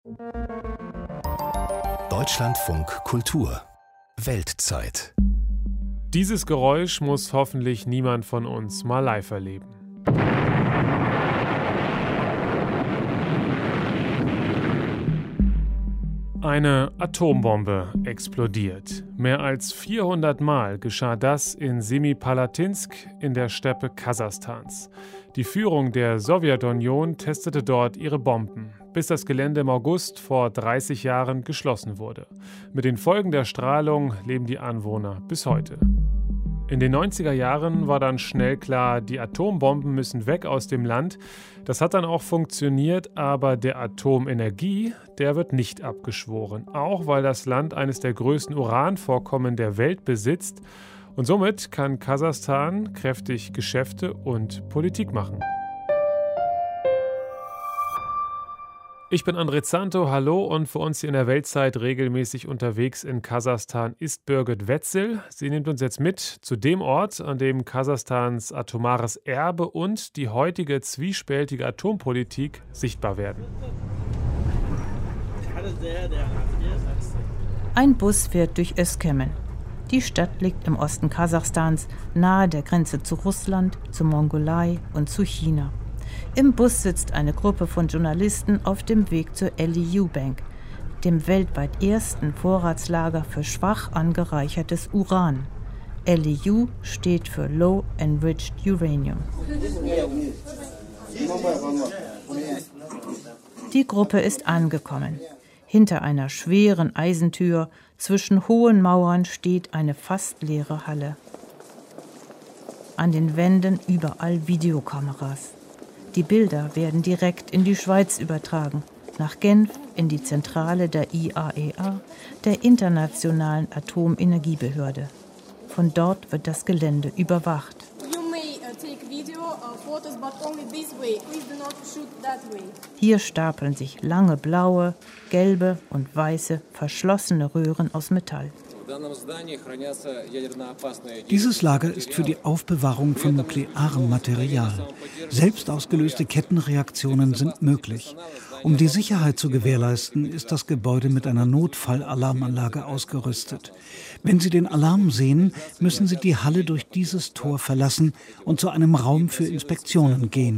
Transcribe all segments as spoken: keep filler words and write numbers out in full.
Deutschlandfunk Kultur Weltzeit. Dieses Geräusch muss hoffentlich niemand von uns mal live erleben. Eine Atombombe explodiert. Mehr als vierhundert Mal geschah das in Semipalatinsk in der Steppe Kasachstans. Die Führung der Sowjetunion testete dort ihre Bomben, bis das Gelände im August vor dreißig Jahren geschlossen wurde. Mit den Folgen der Strahlung leben die Anwohner bis heute. In den neunziger Jahren war dann schnell klar, die Atombomben müssen weg aus dem Land. Das hat dann auch funktioniert, aber der Atomenergie, der wird nicht abgeschworen. Auch weil das Land eines der größten Uranvorkommen der Welt besitzt. Und somit kann Kasachstan kräftig Geschäfte und Politik machen. Ich bin André Zanto, hallo, und für uns hier in der Weltzeit regelmäßig unterwegs in Kasachstan ist Birgit Wetzel. Sie nimmt uns jetzt mit zu dem Ort, an dem Kasachstans atomares Erbe und die heutige zwiespältige Atompolitik sichtbar werden. Ein Bus fährt durch Özkemen. Die Stadt liegt im Osten Kasachstans, nahe der Grenze zu Russland, zur Mongolei und zu China. Im Bus sitzt eine Gruppe von Journalisten auf dem Weg zur L E U Bank, dem weltweit ersten Vorratslager für schwach angereichertes Uran. L E U steht für Low Enriched Uranium. Die Gruppe ist angekommen. Hinter einer schweren Eisentür zwischen hohen Mauern steht eine fast leere Halle. An den Wänden überall Videokameras. Die Bilder werden direkt in die Schweiz übertragen, nach Genf in die Zentrale der I A E A, der Internationalen Atomenergiebehörde. Von dort wird das Gelände überwacht. Hier stapeln sich lange blaue, gelbe und weiße verschlossene Röhren aus Metall. Dieses Lager ist für die Aufbewahrung von nuklearem Material. Selbst ausgelöste Kettenreaktionen sind möglich. Um die Sicherheit zu gewährleisten, ist das Gebäude mit einer Notfallalarmanlage ausgerüstet. Wenn Sie den Alarm sehen, müssen Sie die Halle durch dieses Tor verlassen und zu einem Raum für Inspektionen gehen.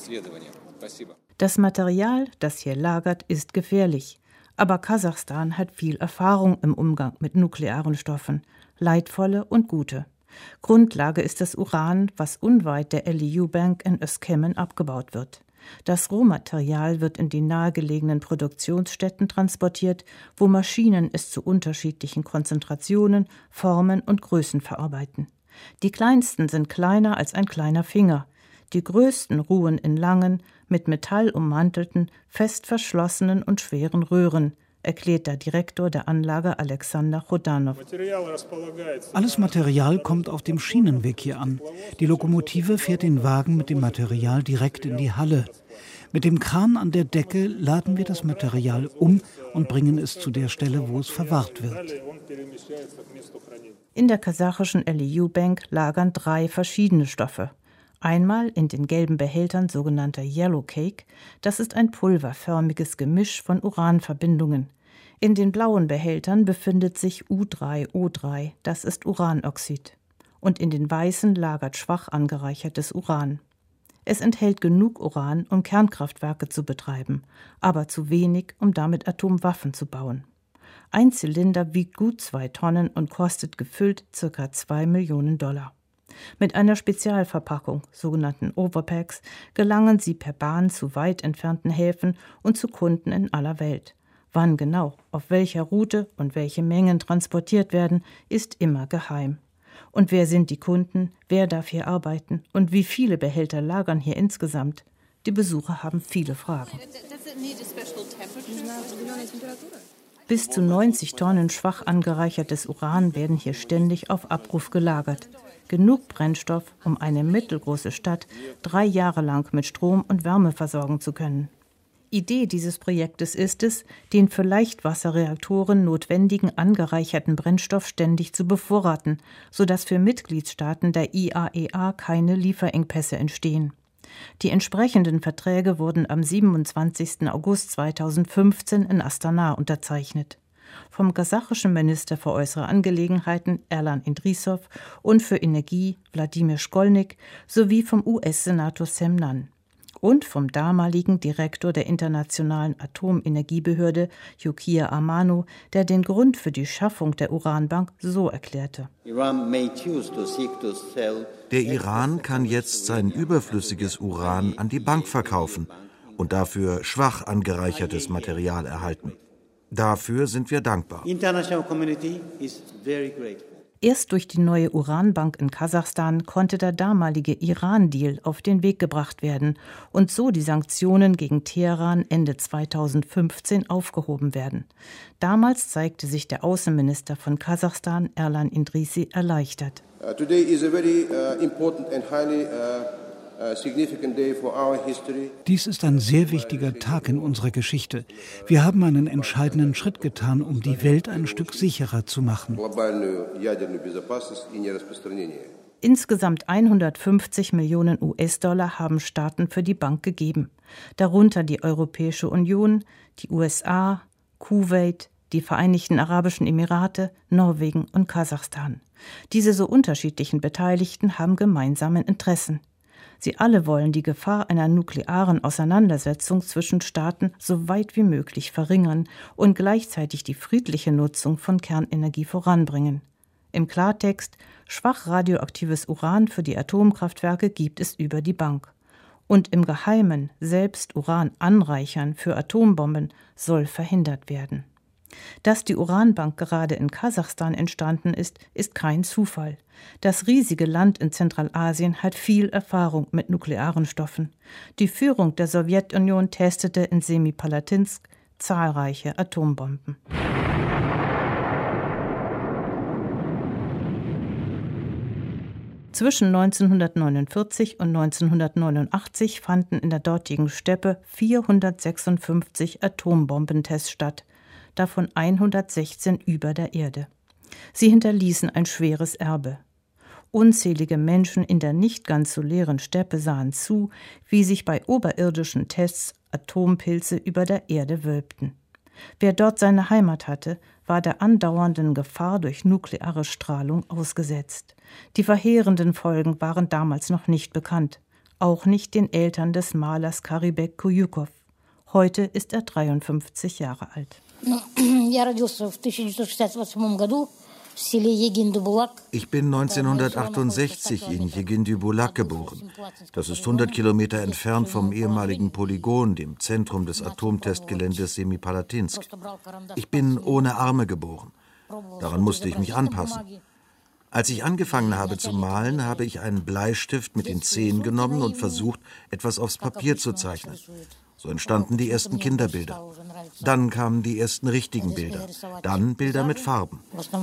Das Material, das hier lagert, ist gefährlich. Aber Kasachstan hat viel Erfahrung im Umgang mit nuklearen Stoffen, leidvolle und gute. Grundlage ist das Uran, was unweit der L E U Bank in Özkemen abgebaut wird. Das Rohmaterial wird in die nahegelegenen Produktionsstätten transportiert, wo Maschinen es zu unterschiedlichen Konzentrationen, Formen und Größen verarbeiten. Die kleinsten sind kleiner als ein kleiner Finger. Die größten ruhen in langen, mit Metall ummantelten, fest verschlossenen und schweren Röhren, erklärt der Direktor der Anlage Alexander Chodanov. Alles Material kommt auf dem Schienenweg hier an. Die Lokomotive fährt den Wagen mit dem Material direkt in die Halle. Mit dem Kran an der Decke laden wir das Material um und bringen es zu der Stelle, wo es verwahrt wird. In der kasachischen L E U Bank lagern drei verschiedene Stoffe. Einmal in den gelben Behältern sogenannter Yellow Cake, das ist ein pulverförmiges Gemisch von Uranverbindungen. In den blauen Behältern befindet sich U drei O drei, das ist Uranoxid. Und in den weißen lagert schwach angereichertes Uran. Es enthält genug Uran, um Kernkraftwerke zu betreiben, aber zu wenig, um damit Atomwaffen zu bauen. Ein Zylinder wiegt gut zwei Tonnen und kostet gefüllt ca. zwei Millionen Dollar. Mit einer Spezialverpackung, sogenannten Overpacks, gelangen sie per Bahn zu weit entfernten Häfen und zu Kunden in aller Welt. Wann genau, auf welcher Route und welche Mengen transportiert werden, ist immer geheim. Und wer sind die Kunden, wer darf hier arbeiten und wie viele Behälter lagern hier insgesamt? Die Besucher haben viele Fragen. Bis zu neunzig Tonnen schwach angereichertes Uran werden hier ständig auf Abruf gelagert. Genug Brennstoff, um eine mittelgroße Stadt drei Jahre lang mit Strom und Wärme versorgen zu können. Idee dieses Projektes ist es, den für Leichtwasserreaktoren notwendigen angereicherten Brennstoff ständig zu bevorraten, sodass für Mitgliedstaaten der I A E A keine Lieferengpässe entstehen. Die entsprechenden Verträge wurden am siebenundzwanzigsten August zweitausendfünfzehn in Astana unterzeichnet. Vom kasachischen Minister für äußere Angelegenheiten Erlan Idrissow und für Energie Wladimir Shkolnik sowie vom U S-Senator Sam Nunn und vom damaligen Direktor der Internationalen Atomenergiebehörde Yukiya Amano, der den Grund für die Schaffung der Uranbank so erklärte. Der Iran kann jetzt sein überflüssiges Uran an die Bank verkaufen und dafür schwach angereichertes Material erhalten. Dafür sind wir dankbar. Erst durch die neue Uranbank in Kasachstan konnte der damalige Iran-Deal auf den Weg gebracht werden und so die Sanktionen gegen Teheran Ende zweitausendfünfzehn aufgehoben werden. Damals zeigte sich der Außenminister von Kasachstan, Erlan Idrissi, erleichtert. Uh, today is a very uh, important and highly uh Dies ist ein sehr wichtiger Tag in unserer Geschichte. Wir haben einen entscheidenden Schritt getan, um die Welt ein Stück sicherer zu machen. Insgesamt hundertfünfzig Millionen U S-Dollar haben Staaten für die Bank gegeben. Darunter die Europäische Union, die U S A, Kuwait, die Vereinigten Arabischen Emirate, Norwegen und Kasachstan. Diese so unterschiedlichen Beteiligten haben gemeinsame Interessen. Sie alle wollen die Gefahr einer nuklearen Auseinandersetzung zwischen Staaten so weit wie möglich verringern und gleichzeitig die friedliche Nutzung von Kernenergie voranbringen. Im Klartext, schwach radioaktives Uran für die Atomkraftwerke gibt es über die Bank. Und im Geheimen selbst Uran anreichern für Atombomben soll verhindert werden. Dass die Uranbank gerade in Kasachstan entstanden ist, ist kein Zufall. Das riesige Land in Zentralasien hat viel Erfahrung mit nuklearen Stoffen. Die Führung der Sowjetunion testete in Semipalatinsk zahlreiche Atombomben. Zwischen neunzehnhundertneunundvierzig und neunzehnhundertneunundachtzig fanden in der dortigen Steppe vierhundertsechsundfünfzig Atombombentests statt, davon hundertsechzehn über der Erde. Sie hinterließen ein schweres Erbe. Unzählige Menschen in der nicht ganz so leeren Steppe sahen zu, wie sich bei oberirdischen Tests Atompilze über der Erde wölbten. Wer dort seine Heimat hatte, war der andauernden Gefahr durch nukleare Strahlung ausgesetzt. Die verheerenden Folgen waren damals noch nicht bekannt, auch nicht den Eltern des Malers Karibek Kuyukow. Heute ist er dreiundfünfzig Jahre alt. Ich bin neunzehnhundertachtundsechzig in Jegindy-Bulak geboren. Das ist hundert Kilometer entfernt vom ehemaligen Polygon, dem Zentrum des Atomtestgeländes Semipalatinsk. Ich bin ohne Arme geboren. Daran musste ich mich anpassen. Als ich angefangen habe zu malen, habe ich einen Bleistift mit den Zehen genommen und versucht, etwas aufs Papier zu zeichnen. So entstanden die ersten Kinderbilder. Dann kamen die ersten richtigen Bilder. Dann Bilder mit Farben.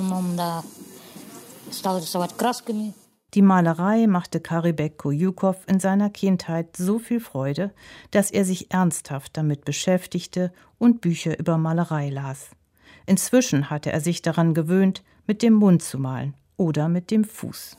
Die Malerei machte Karibek Kuyukow in seiner Kindheit so viel Freude, dass er sich ernsthaft damit beschäftigte und Bücher über Malerei las. Inzwischen hatte er sich daran gewöhnt, mit dem Mund zu malen oder mit dem Fuß.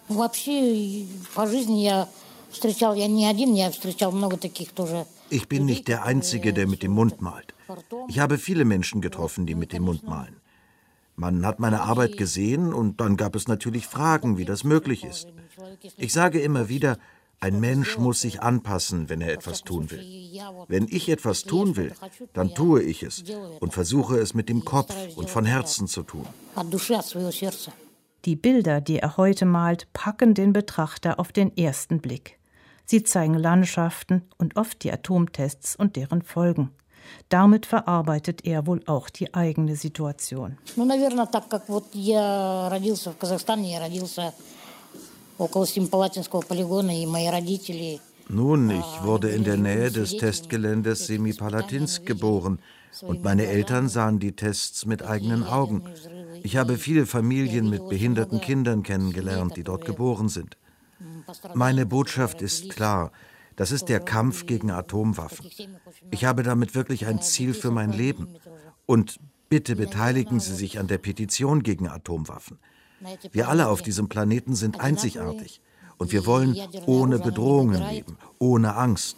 Ich bin nicht der Einzige, der mit dem Mund malt. Ich habe viele Menschen getroffen, die mit dem Mund malen. Man hat meine Arbeit gesehen und dann gab es natürlich Fragen, wie das möglich ist. Ich sage immer wieder, ein Mensch muss sich anpassen, wenn er etwas tun will. Wenn ich etwas tun will, dann tue ich es und versuche es mit dem Kopf und von Herzen zu tun. Die Bilder, die er heute malt, packen den Betrachter auf den ersten Blick. Sie zeigen Landschaften und oft die Atomtests und deren Folgen. Damit verarbeitet er wohl auch die eigene Situation. Nun, ich wurde in der Nähe des Testgeländes Semipalatinsk geboren und meine Eltern sahen die Tests mit eigenen Augen. Ich habe viele Familien mit behinderten Kindern kennengelernt, die dort geboren sind. Meine Botschaft ist klar, das ist der Kampf gegen Atomwaffen. Ich habe damit wirklich ein Ziel für mein Leben. Und bitte beteiligen Sie sich an der Petition gegen Atomwaffen. Wir alle auf diesem Planeten sind einzigartig. Und wir wollen ohne Bedrohungen leben, ohne Angst.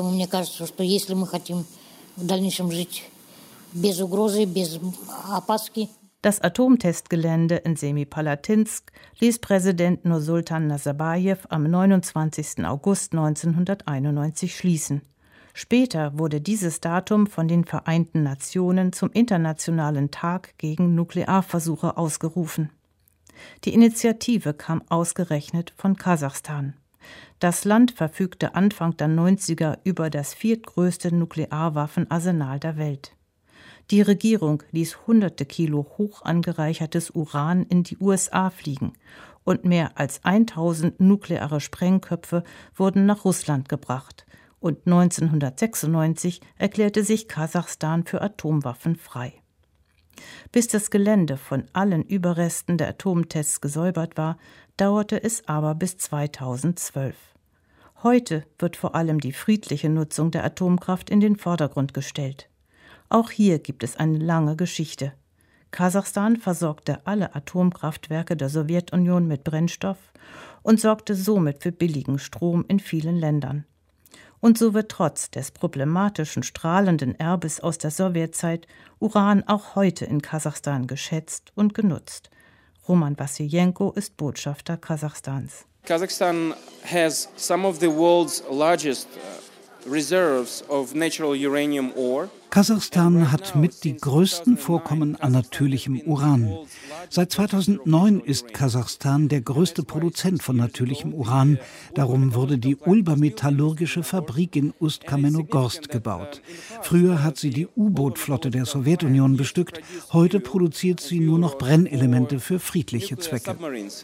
Das Atomtestgelände in Semipalatinsk ließ Präsident Nursultan Nazarbajew am neunundzwanzigsten August neunzehnhunderteinundneunzig schließen. Später wurde dieses Datum von den Vereinten Nationen zum Internationalen Tag gegen Nuklearversuche ausgerufen. Die Initiative kam ausgerechnet von Kasachstan. Das Land verfügte Anfang der neunziger über das viertgrößte Nuklearwaffenarsenal der Welt. Die Regierung ließ hunderte Kilo hoch angereichertes Uran in die U S A fliegen und mehr als tausend nukleare Sprengköpfe wurden nach Russland gebracht. Und neunzehnhundertsechsundneunzig erklärte sich Kasachstan für Atomwaffen frei. Bis das Gelände von allen Überresten der Atomtests gesäubert war, dauerte es aber bis zweitausendzwölf. Heute wird vor allem die friedliche Nutzung der Atomkraft in den Vordergrund gestellt. Auch hier gibt es eine lange Geschichte. Kasachstan versorgte alle Atomkraftwerke der Sowjetunion mit Brennstoff und sorgte somit für billigen Strom in vielen Ländern. Und so wird trotz des problematischen strahlenden Erbes aus der Sowjetzeit Uran auch heute in Kasachstan geschätzt und genutzt. Roman Wasiljenko ist Botschafter Kasachstans. Kazakhstan has some of the world's largest reserves of natural uranium ore. Kasachstan hat mit die größten Vorkommen an natürlichem Uran. Seit zweitausendneun ist Kasachstan der größte Produzent von natürlichem Uran. Darum wurde die Ulba-metallurgische Fabrik in Ust-Kamenogorsk gebaut. Früher hat sie die U-Boot-Flotte der Sowjetunion bestückt. Heute produziert sie nur noch Brennelemente für friedliche Zwecke.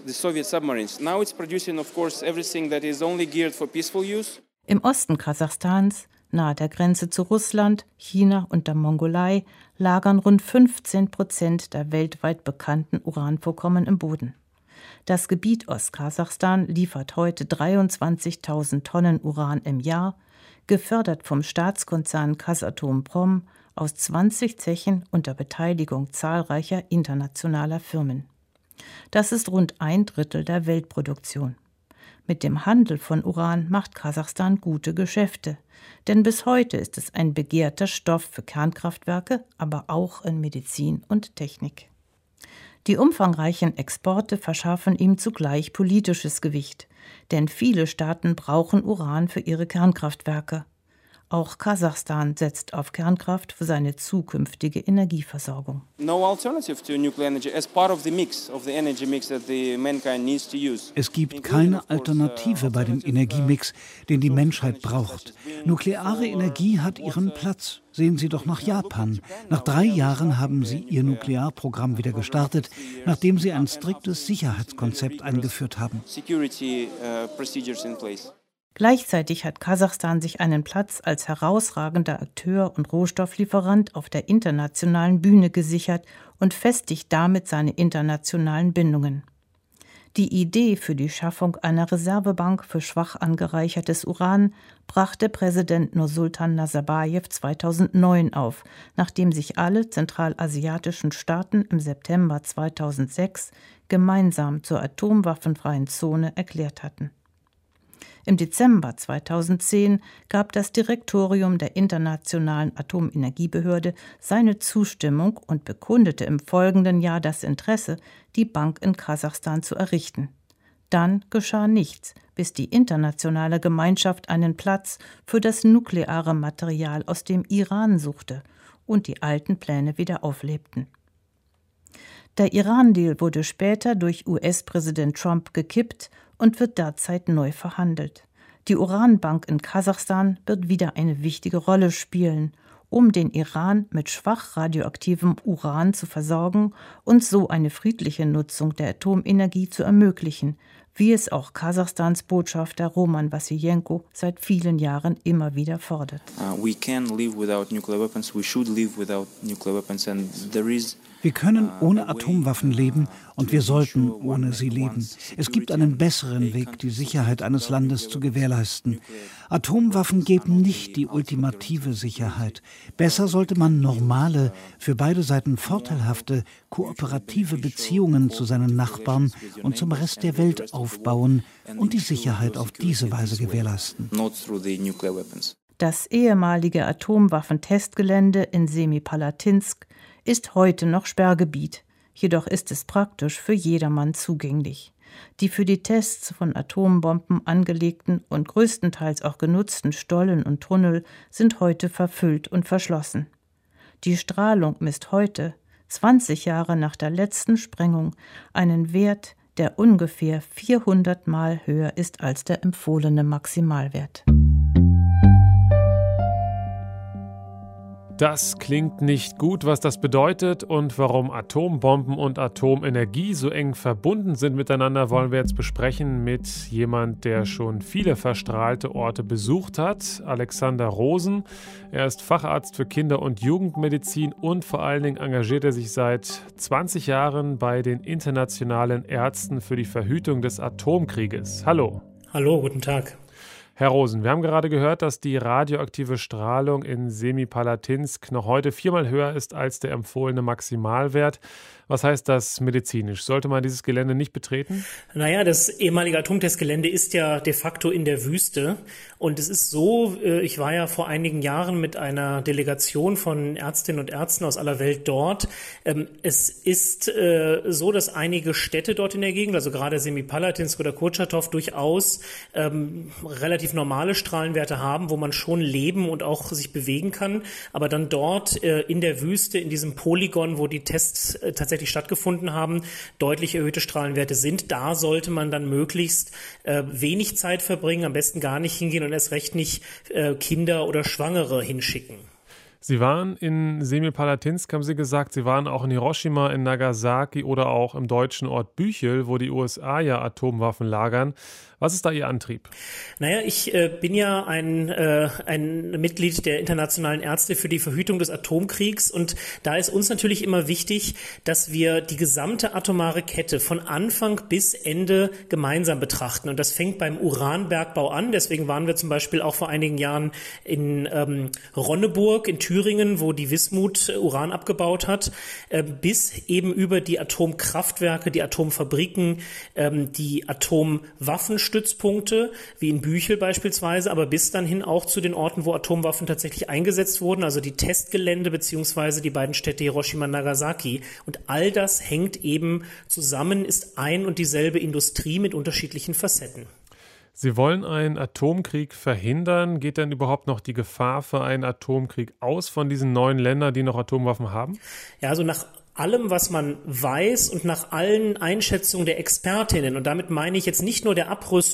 Im Osten Kasachstans, nahe der Grenze zu Russland, China und der Mongolei, lagern rund fünfzehn Prozent der weltweit bekannten Uranvorkommen im Boden. Das Gebiet Ostkasachstan liefert heute dreiundzwanzigtausend Tonnen Uran im Jahr, gefördert vom Staatskonzern Kazatomprom aus zwanzig Zechen unter Beteiligung zahlreicher internationaler Firmen. Das ist rund ein Drittel der Weltproduktion. Mit dem Handel von Uran macht Kasachstan gute Geschäfte, denn bis heute ist es ein begehrter Stoff für Kernkraftwerke, aber auch in Medizin und Technik. Die umfangreichen Exporte verschaffen ihm zugleich politisches Gewicht, denn viele Staaten brauchen Uran für ihre Kernkraftwerke. Auch Kasachstan setzt auf Kernkraft für seine zukünftige Energieversorgung. Es gibt keine Alternative bei dem Energiemix, den die Menschheit braucht. Nukleare Energie hat ihren Platz. Sehen Sie doch nach Japan. Nach drei Jahren haben sie ihr Nuklearprogramm wieder gestartet, nachdem sie ein striktes Sicherheitskonzept eingeführt haben. Gleichzeitig hat Kasachstan sich einen Platz als herausragender Akteur und Rohstofflieferant auf der internationalen Bühne gesichert und festigt damit seine internationalen Bindungen. Die Idee für die Schaffung einer Reservebank für schwach angereichertes Uran brachte Präsident Nursultan Nazarbajew zweitausendneun auf, nachdem sich alle zentralasiatischen Staaten im September zweitausendsechs gemeinsam zur atomwaffenfreien Zone erklärt hatten. Im Dezember zweitausendzehn gab das Direktorium der Internationalen Atomenergiebehörde seine Zustimmung und bekundete im folgenden Jahr das Interesse, die Bank in Kasachstan zu errichten. Dann geschah nichts, bis die internationale Gemeinschaft einen Platz für das nukleare Material aus dem Iran suchte und die alten Pläne wieder auflebten. Der Iran-Deal wurde später durch U S-Präsident Trump gekippt und wird derzeit neu verhandelt. Die Uranbank in Kasachstan wird wieder eine wichtige Rolle spielen, um den Iran mit schwach radioaktivem Uran zu versorgen und so eine friedliche Nutzung der Atomenergie zu ermöglichen, wie es auch Kasachstans Botschafter Roman Wasiljenko seit vielen Jahren immer wieder fordert. Uh, we can live without nuclear weapons. We should live without nuclear weapons, and there is Wir können ohne Atomwaffen leben und wir sollten ohne sie leben. Es gibt einen besseren Weg, die Sicherheit eines Landes zu gewährleisten. Atomwaffen geben nicht die ultimative Sicherheit. Besser sollte man normale, für beide Seiten vorteilhafte, kooperative Beziehungen zu seinen Nachbarn und zum Rest der Welt aufbauen. aufbauen und die Sicherheit auf diese Weise gewährleisten. Das ehemalige Atomwaffentestgelände in Semipalatinsk ist heute noch Sperrgebiet, jedoch ist es praktisch für jedermann zugänglich. Die für die Tests von Atombomben angelegten und größtenteils auch genutzten Stollen und Tunnel sind heute verfüllt und verschlossen. Die Strahlung misst heute, zwanzig Jahre nach der letzten Sprengung, einen Wert, der ungefähr vierhundert Mal höher ist als der empfohlene Maximalwert. Das klingt nicht gut, was das bedeutet und warum Atombomben und Atomenergie so eng verbunden sind miteinander, wollen wir jetzt besprechen mit jemand, der schon viele verstrahlte Orte besucht hat, Alexander Rosen. Er ist Facharzt für Kinder- und Jugendmedizin und vor allen Dingen engagiert er sich seit zwanzig Jahren bei den internationalen Ärzten für die Verhütung des Atomkrieges. Hallo. Hallo, guten Tag. Herr Rosen, wir haben gerade gehört, dass die radioaktive Strahlung in Semipalatinsk noch heute viermal höher ist als der empfohlene Maximalwert. Was heißt das medizinisch? Sollte man dieses Gelände nicht betreten? Naja, das ehemalige Atomtestgelände ist ja de facto in der Wüste. Und es ist so, ich war ja vor einigen Jahren mit einer Delegation von Ärztinnen und Ärzten aus aller Welt dort. Es ist so, dass einige Städte dort in der Gegend, also gerade Semipalatinsk oder Kurtschatow, durchaus ähm, relativ normale Strahlenwerte haben, wo man schon leben und auch sich bewegen kann. Aber dann dort äh, in der Wüste, in diesem Polygon, wo die Tests äh, tatsächlich stattgefunden haben, deutlich erhöhte Strahlenwerte sind. Da sollte man dann möglichst äh, wenig Zeit verbringen, am besten gar nicht hingehen und erst recht nicht äh, Kinder oder Schwangere hinschicken. Sie waren in Semipalatinsk, haben Sie gesagt, Sie waren auch in Hiroshima, in Nagasaki oder auch im deutschen Ort Büchel, wo die U S A ja Atomwaffen lagern. Was ist da Ihr Antrieb? Naja, ich äh, bin ja ein, äh, ein Mitglied der Internationalen Ärzte für die Verhütung des Atomkriegs und da ist uns natürlich immer wichtig, dass wir die gesamte atomare Kette von Anfang bis Ende gemeinsam betrachten und das fängt beim Uranbergbau an. Deswegen waren wir zum Beispiel auch vor einigen Jahren in ähm, Ronneburg in Thüringen, wo die Wismut Uran abgebaut hat, äh, bis eben über die Atomkraftwerke, die Atomfabriken, ähm, die Atomwaffenstützpunkte, wie in Büchel beispielsweise, aber bis dann hin auch zu den Orten, wo Atomwaffen tatsächlich eingesetzt wurden, also die Testgelände beziehungsweise die beiden Städte Hiroshima und Nagasaki. Und all das hängt eben zusammen, ist ein und dieselbe Industrie mit unterschiedlichen Facetten. Sie wollen einen Atomkrieg verhindern. Geht denn überhaupt noch die Gefahr für einen Atomkrieg aus von diesen neuen Ländern, die noch Atomwaffen haben? Ja, also nach allem, was man weiß und nach allen Einschätzungen der Expertinnen, und damit meine ich jetzt nicht nur der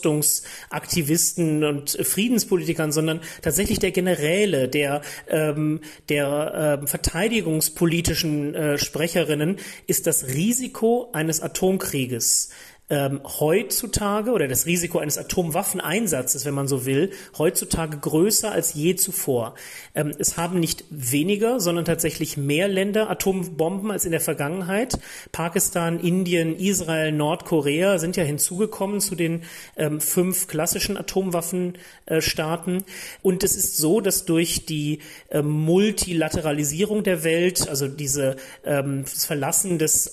Abrüstungsaktivisten und Friedenspolitikern, sondern tatsächlich der Generäle, der, ähm, der äh, verteidigungspolitischen äh, Sprecherinnen, ist das Risiko eines Atomkrieges Ähm, heutzutage oder das Risiko eines Atomwaffeneinsatzes, wenn man so will, heutzutage größer als je zuvor. Ähm, es haben nicht weniger, sondern tatsächlich mehr Länder Atombomben als in der Vergangenheit. Pakistan, Indien, Israel, Nordkorea sind ja hinzugekommen zu den ähm, fünf klassischen Atomwaffenstaaten. Äh, Und es ist so, dass durch die äh, Multilateralisierung der Welt, also diese, ähm, das Verlassen des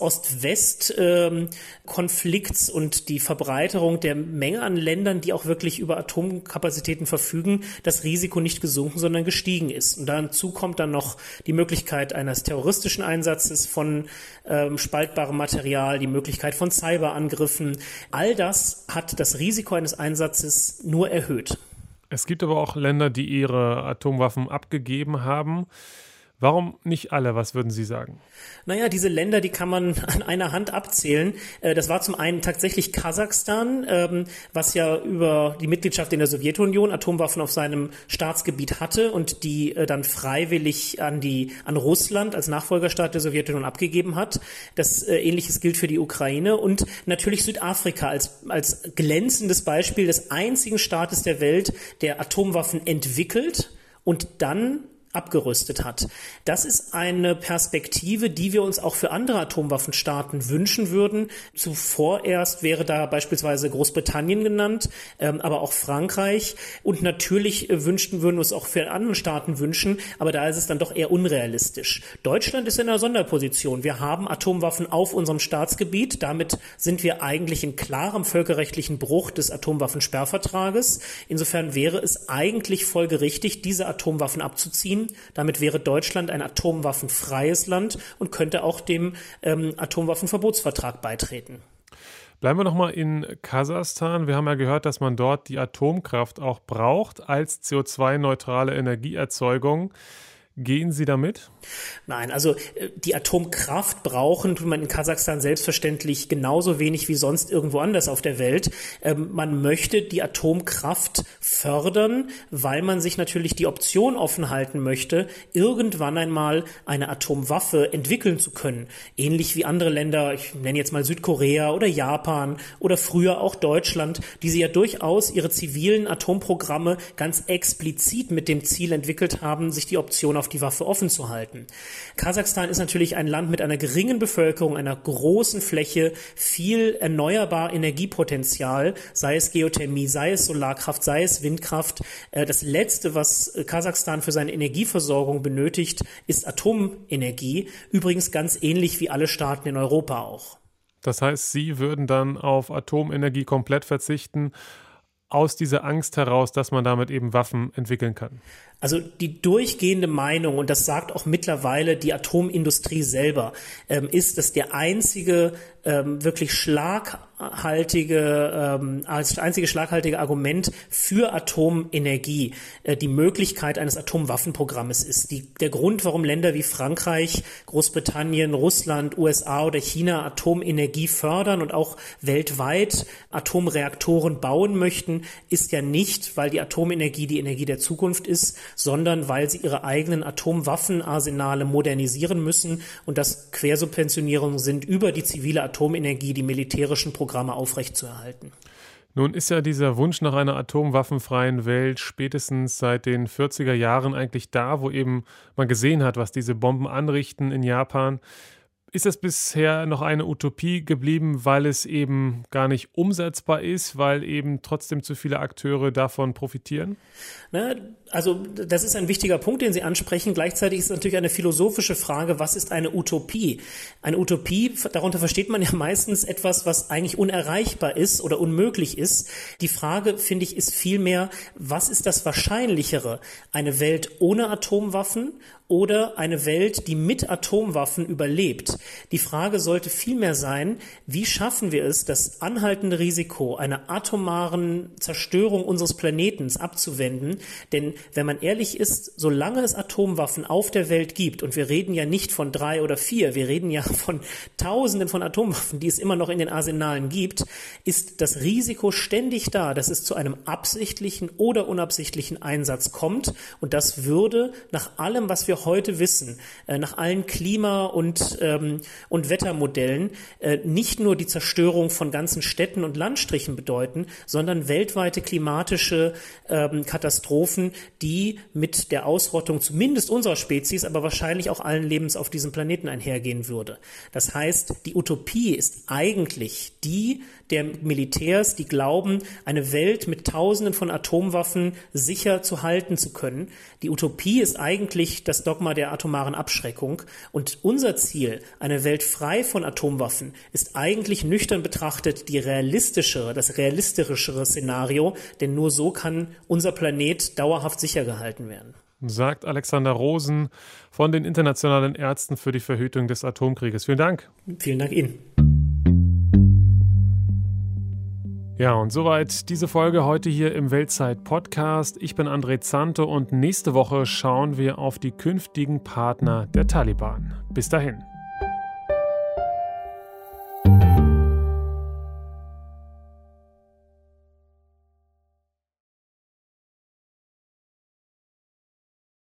Ost-West-Konflikts, ähm, und die Verbreiterung der Menge an Ländern, die auch wirklich über Atomkapazitäten verfügen, das Risiko nicht gesunken, sondern gestiegen ist. Und dazu kommt dann noch die Möglichkeit eines terroristischen Einsatzes von ähm, spaltbarem Material, die Möglichkeit von Cyberangriffen. All das hat das Risiko eines Einsatzes nur erhöht. Es gibt aber auch Länder, die ihre Atomwaffen abgegeben haben. Warum nicht alle? Was würden Sie sagen? Naja, diese Länder, die kann man an einer Hand abzählen. Das war zum einen tatsächlich Kasachstan, was ja über die Mitgliedschaft in der Sowjetunion Atomwaffen auf seinem Staatsgebiet hatte und die dann freiwillig an die an Russland als Nachfolgerstaat der Sowjetunion abgegeben hat. Das Ähnliches gilt für die Ukraine und natürlich Südafrika als als glänzendes Beispiel des einzigen Staates der Welt, der Atomwaffen entwickelt und dann abgerüstet hat. Das ist eine Perspektive, die wir uns auch für andere Atomwaffenstaaten wünschen würden. Zuvor erst wäre da beispielsweise Großbritannien genannt, ähm, aber auch Frankreich. Und natürlich äh, wünschten würden wir es auch für andere Staaten wünschen, aber da ist es dann doch eher unrealistisch. Deutschland ist in einer Sonderposition. Wir haben Atomwaffen auf unserem Staatsgebiet. Damit sind wir eigentlich in klarem völkerrechtlichen Bruch des Atomwaffensperrvertrages. Insofern wäre es eigentlich folgerichtig, diese Atomwaffen abzuziehen. Damit wäre Deutschland ein atomwaffenfreies Land und könnte auch dem ähm, Atomwaffenverbotsvertrag beitreten. Bleiben wir nochmal in Kasachstan. Wir haben ja gehört, dass man dort die Atomkraft auch braucht als C O zwei neutrale Energieerzeugung. Gehen Sie damit? Nein, also die Atomkraft brauchen tut man in Kasachstan selbstverständlich genauso wenig wie sonst irgendwo anders auf der Welt. Ähm, man möchte die Atomkraft fördern, weil man sich natürlich die Option offen halten möchte, irgendwann einmal eine Atomwaffe entwickeln zu können. Ähnlich wie andere Länder, ich nenne jetzt mal Südkorea oder Japan oder früher auch Deutschland, die sie ja durchaus ihre zivilen Atomprogramme ganz explizit mit dem Ziel entwickelt haben, sich die Option auf die Waffe offen zu halten. Kasachstan ist natürlich ein Land mit einer geringen Bevölkerung, einer großen Fläche, viel erneuerbar Energiepotenzial, sei es Geothermie, sei es Solarkraft, sei es Windkraft. Das Letzte, was Kasachstan für seine Energieversorgung benötigt, ist Atomenergie. Übrigens ganz ähnlich wie alle Staaten in Europa auch. Das heißt, Sie würden dann auf Atomenergie komplett verzichten, aus dieser Angst heraus, dass man damit eben Waffen entwickeln kann? Also die durchgehende Meinung, und das sagt auch mittlerweile die Atomindustrie selber, ähm, ist, dass der einzige ähm, wirklich schlaghaltige, ähm, als einzige schlaghaltige Argument für Atomenergie äh, die Möglichkeit eines Atomwaffenprogrammes ist. Die, der Grund, warum Länder wie Frankreich, Großbritannien, Russland, U S A oder China Atomenergie fördern und auch weltweit Atomreaktoren bauen möchten, ist ja nicht, weil die Atomenergie die Energie der Zukunft ist, sondern weil sie ihre eigenen Atomwaffenarsenale modernisieren müssen und das Quersubventionierungen sind, über die zivile Atomenergie die militärischen Programme aufrechtzuerhalten. Nun ist ja dieser Wunsch nach einer atomwaffenfreien Welt spätestens seit den vierziger Jahren eigentlich da, wo eben man gesehen hat, was diese Bomben anrichten in Japan. Ist das bisher noch eine Utopie geblieben, weil es eben gar nicht umsetzbar ist, weil eben trotzdem zu viele Akteure davon profitieren? Na, also das ist ein wichtiger Punkt, den Sie ansprechen. Gleichzeitig ist es natürlich eine philosophische Frage, was ist eine Utopie? Eine Utopie, darunter versteht man ja meistens etwas, was eigentlich unerreichbar ist oder unmöglich ist. Die Frage, finde ich, ist vielmehr, was ist das Wahrscheinlichere? Eine Welt ohne Atomwaffen oder eine Welt, die mit Atomwaffen überlebt? Die Frage sollte vielmehr sein, wie schaffen wir es, das anhaltende Risiko einer atomaren Zerstörung unseres Planetens abzuwenden? Denn wenn man ehrlich ist, solange es Atomwaffen auf der Welt gibt, und wir reden ja nicht von drei oder vier, wir reden ja von Tausenden von Atomwaffen, die es immer noch in den Arsenalen gibt, ist das Risiko ständig da, dass es zu einem absichtlichen oder unabsichtlichen Einsatz kommt. Und das würde nach allem, was wir heute wissen, nach allen Klima- und, ähm, und Wettermodellen, äh, nicht nur die Zerstörung von ganzen Städten und Landstrichen bedeuten, sondern weltweite klimatische ähm, Katastrophen, die mit der Ausrottung zumindest unserer Spezies, aber wahrscheinlich auch allen Lebens auf diesem Planeten einhergehen würde. Das heißt, die Utopie ist eigentlich die der Militärs, die glauben, eine Welt mit Tausenden von Atomwaffen sicher zu halten zu können. Die Utopie ist eigentlich das Dogma der atomaren Abschreckung. Und unser Ziel, eine Welt frei von Atomwaffen, ist eigentlich nüchtern betrachtet die realistischere, das realistischere Szenario, denn nur so kann unser Planet dauerhaft sicher gehalten werden. Sagt Alexander Rosen von den Internationalen Ärzten für die Verhütung des Atomkrieges. Vielen Dank. Vielen Dank Ihnen. Ja, und soweit diese Folge heute hier im Weltzeit-Podcast. Ich bin André Zanto und nächste Woche schauen wir auf die künftigen Partner der Taliban. Bis dahin.